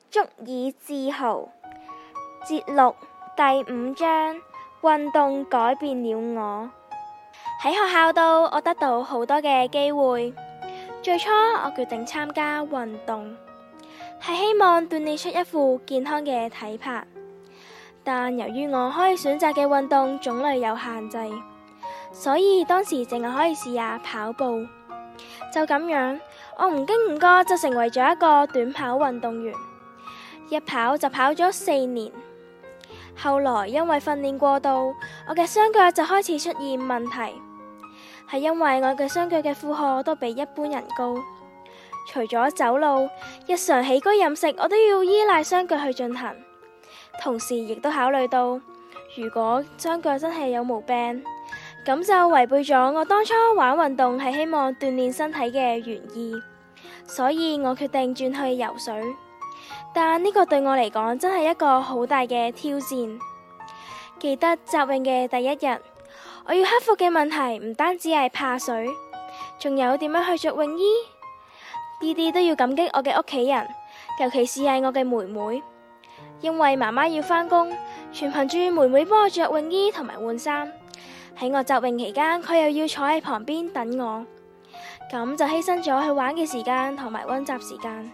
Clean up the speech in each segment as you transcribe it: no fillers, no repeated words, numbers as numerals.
足以自豪。節錄第5章，運動改變了我。喺學校度，我得到好多嘅機會。最初我決定參加運動，係希望鍛煉出一副健康嘅體魄。但由於我可以選擇嘅運動種類有限制，所以當時淨係可以試下跑步。就咁樣，我唔經唔覺就成為咗一個短跑運動員，一跑就跑咗4年。後來因為訓練過度，我嘅雙腳就開始出現問題，係因為我嘅雙腳嘅負荷都比一般人高。除咗走路，日常起居飲食我都要依賴雙腳去進行。同時亦都考慮到，如果雙腳真係有毛病，咁就違背咗我當初玩運動係希望鍛煉身體嘅原意。所以我決定轉去游水。但呢個對我嚟講真係一個好大嘅挑戰。記得集泳嘅第一日，我要克服嘅問題唔單止係怕水，仲有點樣去着泳衣。呢啲都要感激我嘅屋企人，尤其是係我嘅妹妹。因為媽媽要返工，全憑住妹妹幫我着泳衣同埋換衫。喺我集泳期間，佢又要坐喺旁邊等我，咁就犧牲咗去玩嘅時間同埋溫習時間。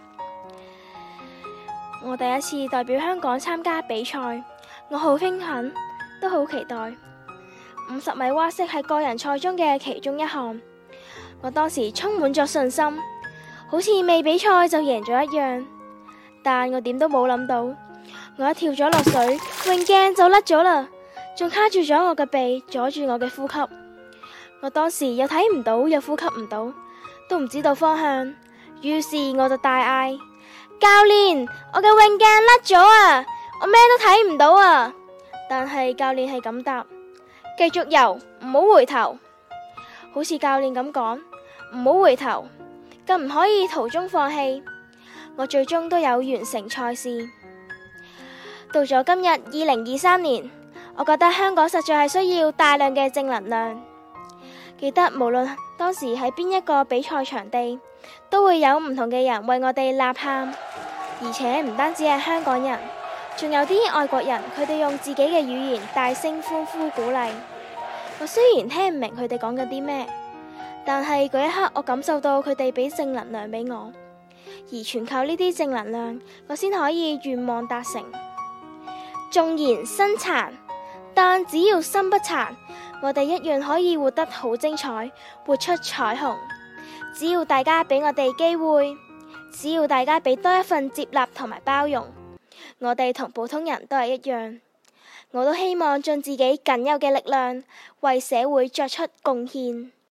我第一次代表香港參加比賽，我好興奮，都好期待。50米蛙式係個人賽中嘅其中一項，我當時充滿咗信心，好似未比賽就贏咗一樣。但我點都冇諗到，我一跳咗落水，泳鏡就甩咗啦，仲卡住咗我嘅鼻，阻住我嘅呼吸。我當時又睇唔到，又呼吸唔到，都唔知道方向。於是我就大嗌：教練，我嘅泳鏡甩咗啊！我咩都睇唔到啊！但係教練係咁答：繼續游，唔好回頭。好似教練咁講，唔好回頭，更唔可以途中放棄。我最終都有完成賽事。到咗今日2023年，我覺得香港實在係需要大量嘅正能量。記得無論當時喺邊一個比賽場地，都會有唔同嘅人為我哋吶喊，而且唔單止係香港人，仲有啲外國人，佢哋用自己嘅語言大聲歡呼鼓勵。我雖然聽唔明佢哋講緊啲咩，但係嗰一刻我感受到佢哋俾正能量俾我，而全靠呢啲正能量，我先可以願望達成。縱然身殘，但只要心不殘，我哋一樣可以活得好精彩，活出彩虹。只要大家俾我哋機會，只要大家俾多一份接納同埋包容，我哋同普通人都係一樣。我都希望盡自己僅有嘅力量，為社會作出貢獻。